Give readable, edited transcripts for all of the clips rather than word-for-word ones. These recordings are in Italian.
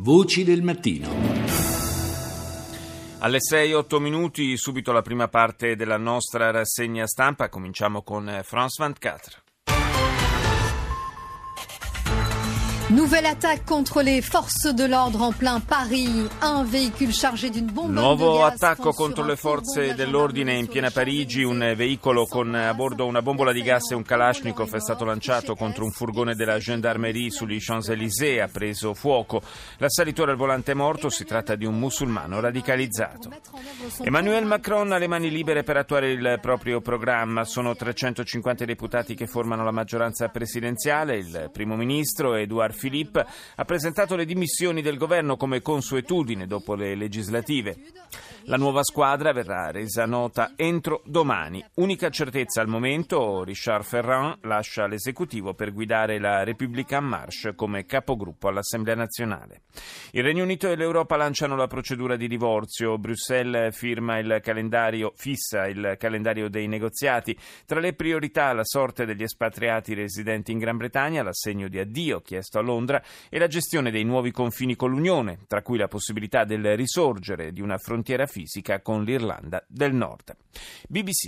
Voci del mattino. Alle 6-8 minuti, subito la prima parte della nostra rassegna stampa. Cominciamo con France 24. Nouvelle attaque contre les forces de l'ordre en plein Paris. Un véhicule chargé d'une bombe de Nuovo gaz attacco contro le forze dell'ordine in piena Parigi. Un veicolo con a bordo una bombola di gas e un Kalashnikov è stato lanciato contro un furgone della Gendarmerie sugli Champs-Élysées. Ha preso fuoco. L'assalitore al volante è morto. Si tratta di un musulmano radicalizzato. Emmanuel Macron ha le mani libere per attuare il proprio programma. Sono 350 deputati che formano la maggioranza presidenziale. Il primo ministro Édouard Philippe ha presentato le dimissioni del governo come consuetudine dopo le legislative. La nuova squadra verrà resa nota entro domani. Unica certezza al momento, Richard Ferrand lascia l'esecutivo per guidare la République en Marche come capogruppo all'Assemblea nazionale. Il Regno Unito e l'Europa lanciano la procedura di divorzio. Bruxelles fissa il calendario dei negoziati. Tra le priorità la sorte degli espatriati residenti in Gran Bretagna, l'assegno di addio chiesto a Londra e la gestione dei nuovi confini con l'Unione, tra cui la possibilità del risorgere di una frontiera fisica con l'Irlanda del Nord. BBC.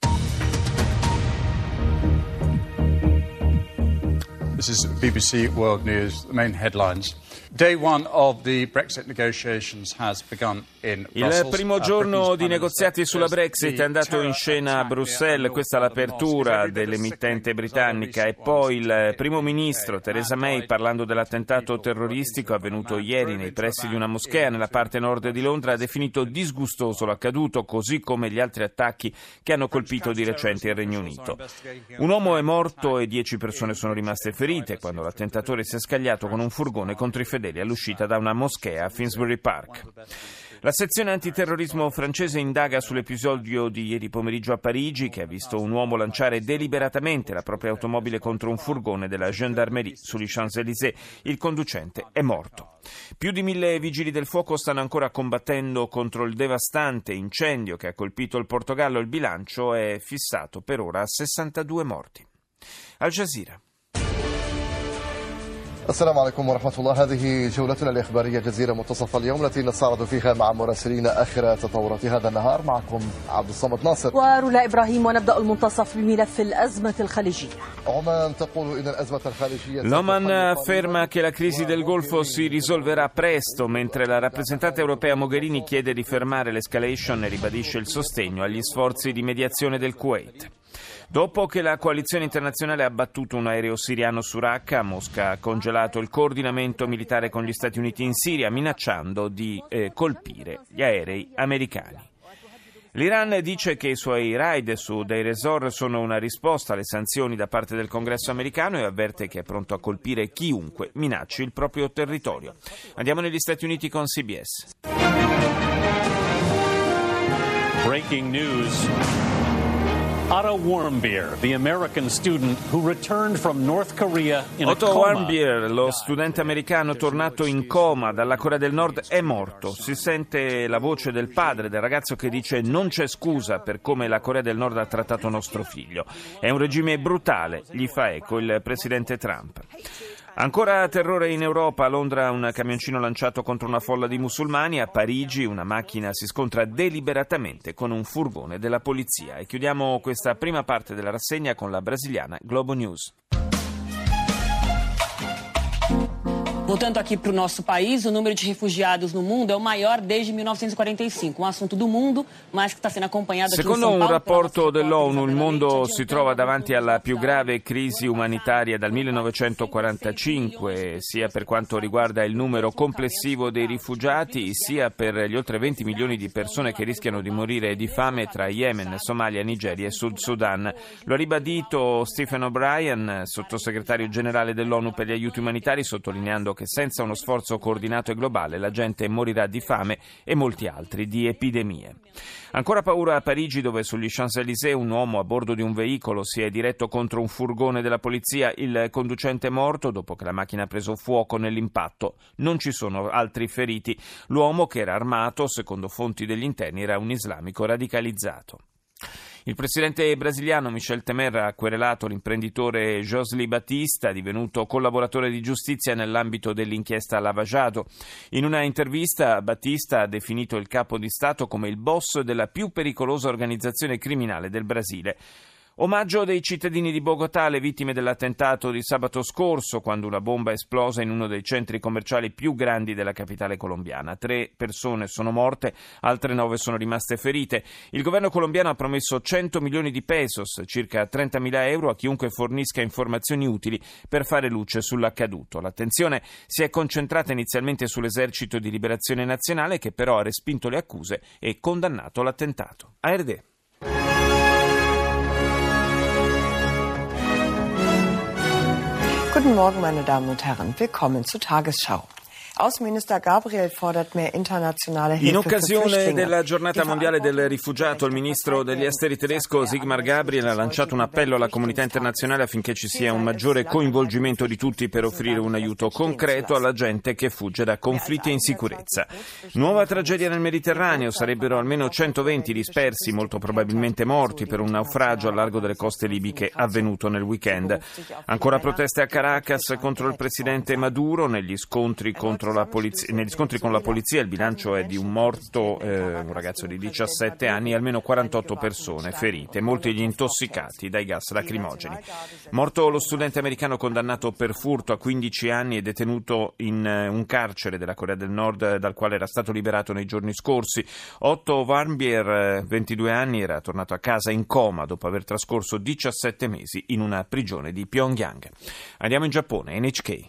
This is BBC World News, the main headlines. Day one of the Brexit negotiations has begun in Brussels. Il primo giorno di negoziati sulla Brexit è andato in scena a Bruxelles, questa è l'apertura dell'emittente britannica, e poi il primo ministro Theresa May, parlando dell'attentato terroristico avvenuto ieri nei pressi di una moschea nella parte nord di Londra, ha definito disgustoso l'accaduto, così come gli altri attacchi che hanno colpito di recente il Regno Unito. Un uomo è morto e 10 persone sono rimaste ferite quando l'attentatore si è scagliato con un furgone contro i fedeli all'uscita da una moschea a Finsbury Park. La sezione antiterrorismo francese indaga sull'episodio di ieri pomeriggio a Parigi, che ha visto un uomo lanciare deliberatamente la propria automobile contro un furgone della Gendarmerie sugli Champs-Élysées. Il conducente è morto. Più di 1.000 vigili del fuoco stanno ancora combattendo contro il devastante incendio che ha colpito il Portogallo. Il bilancio è fissato per ora a 62 morti. Al Jazeera. السلام عليكم ورحمة الله. هذه جولتنا الإخبارية جزيرة منتصف اليوم التي نستعرض فيها مع مراسلين آخر تطورات هذا النهار. معكم عبد الصمد ناصر ورولا إبراهيم، ونبدأ المنتصف بملف الأزمة الخليجية. عمان تقول إن الأزمة الخليجية. L'Oman afferma che la crisi del Golfo si risolverà presto, mentre la rappresentante europea Mogherini chiede di fermare l'escalation e ribadisce il sostegno agli sforzi di mediazione del Kuwait. Dopo che la coalizione internazionale ha abbattuto un aereo siriano su Raqqa, Mosca ha congelato il coordinamento militare con gli Stati Uniti in Siria, minacciando di colpire gli aerei americani. L'Iran dice che i suoi raid su Deir ez-Zor sono una risposta alle sanzioni da parte del Congresso americano e avverte che è pronto a colpire chiunque minacci il proprio territorio. Andiamo negli Stati Uniti con CBS. Breaking news. Otto Warmbier, the American student who returned from North Korea in a Otto coma. Warmbier, lo studente americano tornato in coma dalla Corea del Nord, è morto. Si sente la voce del padre del ragazzo che dice: non c'è scusa per come la Corea del Nord ha trattato nostro figlio. È un regime brutale, gli fa eco il presidente Trump. Ancora terrore in Europa. A Londra un camioncino lanciato contro una folla di musulmani. A Parigi una macchina si scontra deliberatamente con un furgone della polizia. E chiudiamo questa prima parte della rassegna con la brasiliana Globo News. Voltando aqui para o nosso país, o número de refugiados no mundo é o maior desde 1945, um assunto do mundo, mas que está sendo acompanhado aqui em São Paulo. Secondo un rapporto dell'ONU, il mondo si trova davanti alla più grave crisi umanitaria dal 1945, sia per quanto riguarda il numero complessivo dei rifugiati, sia per gli oltre 20 milioni di persone che rischiano di morire di fame tra Yemen, Somalia, Nigeria e Sud Sudan. Lo ha ribadito Stephen O'Brien, sottosegretario generale dell'ONU per gli aiuti umanitari, sottolineando che senza uno sforzo coordinato e globale la gente morirà di fame e molti altri di epidemie. Ancora paura a Parigi, dove sugli Champs-Élysées un uomo a bordo di un veicolo si è diretto contro un furgone della polizia. Il conducente è morto dopo che la macchina ha preso fuoco nell'impatto. Non ci sono altri feriti. L'uomo, che era armato, secondo fonti degli interni, era un islamico radicalizzato. Il presidente brasiliano Michel Temer ha querelato l'imprenditore Josely Batista, divenuto collaboratore di giustizia nell'ambito dell'inchiesta Lava Jato. In una intervista Batista ha definito il capo di Stato come il boss della più pericolosa organizzazione criminale del Brasile. Omaggio dei cittadini di Bogotà alle vittime dell'attentato di sabato scorso, quando una bomba è esplosa in uno dei centri commerciali più grandi della capitale colombiana. 3 persone sono morte, altre 9 sono rimaste ferite. Il governo colombiano ha promesso 100 milioni di pesos, circa 30.000 euro, a chiunque fornisca informazioni utili per fare luce sull'accaduto. L'attenzione si è concentrata inizialmente sull'Esercito di Liberazione Nazionale, che però ha respinto le accuse e condannato l'attentato. ARD. Guten Morgen, meine Damen und Herren. Willkommen zur Tagesschau. Außenminister Gabriel fordert mehr internationale Hilfe. In occasione della giornata mondiale del rifugiato, il ministro degli esteri tedesco Sigmar Gabriel ha lanciato un appello alla comunità internazionale affinché ci sia un maggiore coinvolgimento di tutti per offrire un aiuto concreto alla gente che fugge da conflitti e insicurezza. Nuova tragedia nel Mediterraneo, sarebbero almeno 120 dispersi, molto probabilmente morti, per un naufragio a largo delle coste libiche avvenuto nel weekend. Ancora proteste a Caracas contro il presidente Maduro, negli scontri con la polizia il bilancio è di un morto, un ragazzo di 17 anni, e almeno 48 persone ferite, molti gli intossicati dai gas lacrimogeni. Morto lo studente americano condannato per furto a 15 anni e detenuto in un carcere della Corea del Nord dal quale era stato liberato nei giorni scorsi. Otto Warmbier, 22 anni, era tornato a casa in coma dopo aver trascorso 17 mesi in una prigione di Pyongyang. Andiamo in Giappone, NHK.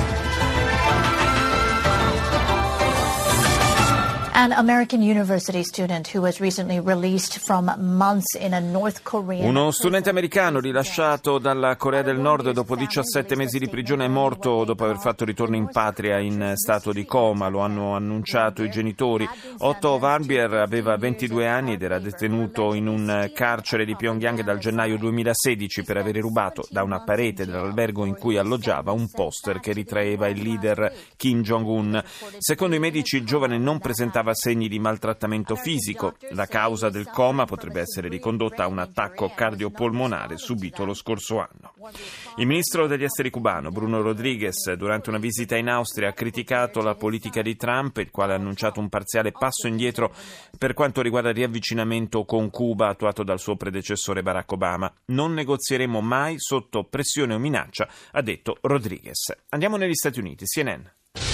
An American university student who was recently released from months in a North Korean... Uno studente americano rilasciato dalla Corea del Nord dopo 17 mesi di prigione è morto dopo aver fatto ritorno in patria in stato di coma, lo hanno annunciato i genitori. Otto Warmbier aveva 22 anni ed era detenuto in un carcere di Pyongyang dal gennaio 2016 per aver rubato da una parete dell'albergo in cui alloggiava un poster che ritraeva il leader Kim Jong-un. Secondo i medici il giovane non presentava segni di maltrattamento fisico. La causa del coma potrebbe essere ricondotta a un attacco cardiopolmonare subito lo scorso anno. Il ministro degli esteri cubano Bruno Rodriguez, durante una visita in Austria, ha criticato la politica di Trump, il quale ha annunciato un parziale passo indietro per quanto riguarda il riavvicinamento con Cuba attuato dal suo predecessore Barack Obama. Non negozieremo mai sotto pressione o minaccia, ha detto Rodriguez. Andiamo negli Stati Uniti, CNN.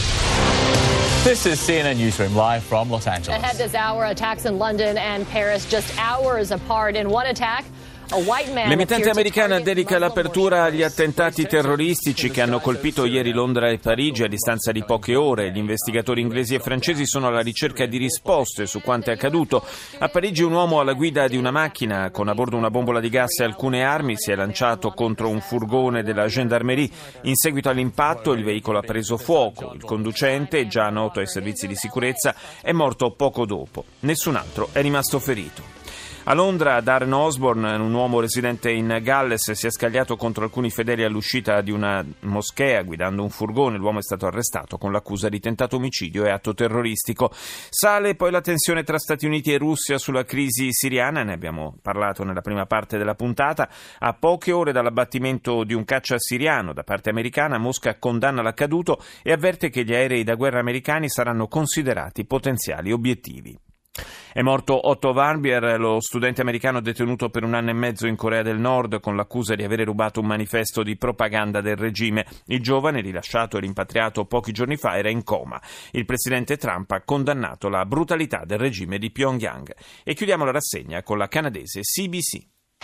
This is CNN Newsroom live from Los Angeles. Ahead this hour, attacks in London and Paris just hours apart. In one attack, l'emittente americana dedica l'apertura agli attentati terroristici che hanno colpito ieri Londra e Parigi a distanza di poche ore. Gli investigatori inglesi e francesi sono alla ricerca di risposte su quanto è accaduto. A Parigi un uomo alla guida di una macchina con a bordo una bombola di gas e alcune armi si è lanciato contro un furgone della gendarmerie. In seguito all'impatto il veicolo ha preso fuoco. Il conducente, già noto ai servizi di sicurezza, è morto poco dopo. Nessun altro è rimasto ferito. A Londra, Darren Osborne, un uomo residente in Galles, si è scagliato contro alcuni fedeli all'uscita di una moschea guidando un furgone. L'uomo è stato arrestato con l'accusa di tentato omicidio e atto terroristico. Sale poi la tensione tra Stati Uniti e Russia sulla crisi siriana, ne abbiamo parlato nella prima parte della puntata. A poche ore dall'abbattimento di un caccia siriano da parte americana, Mosca condanna l'accaduto e avverte che gli aerei da guerra americani saranno considerati potenziali obiettivi. È morto Otto Warmbier, lo studente americano detenuto per 1 anno e mezzo in Corea del Nord con l'accusa di avere rubato un manifesto di propaganda del regime. Il giovane, rilasciato e rimpatriato pochi giorni fa, era in coma. Il presidente Trump ha condannato la brutalità del regime di Pyongyang. E chiudiamo la rassegna con la canadese CBC.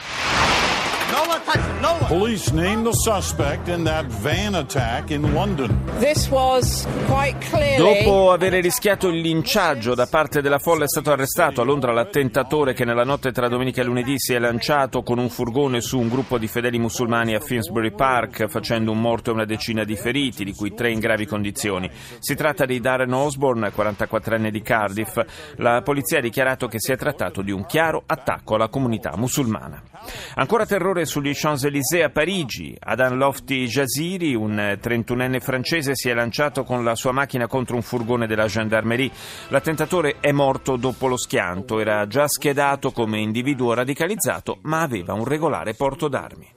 Police named the suspect in that van attack in London. This was quite clearly... Dopo aver rischiato il linciaggio da parte della folla è stato arrestato a Londra l'attentatore che nella notte tra domenica e lunedì si è lanciato con un furgone su un gruppo di fedeli musulmani a Finsbury Park, facendo un morto e una decina di feriti, di cui 3 in gravi condizioni. Si tratta di Darren Osborne, 44enne di Cardiff. La polizia ha dichiarato che si è trattato di un chiaro attacco alla comunità musulmana. Ancora terrore sugli Champs-Élysées a Parigi. Adan Lofty Jaziri, un 31enne francese milanese si è lanciato con la sua macchina contro un furgone della gendarmerie. L'attentatore è morto dopo lo schianto, era già schedato come individuo radicalizzato, ma aveva un regolare porto d'armi.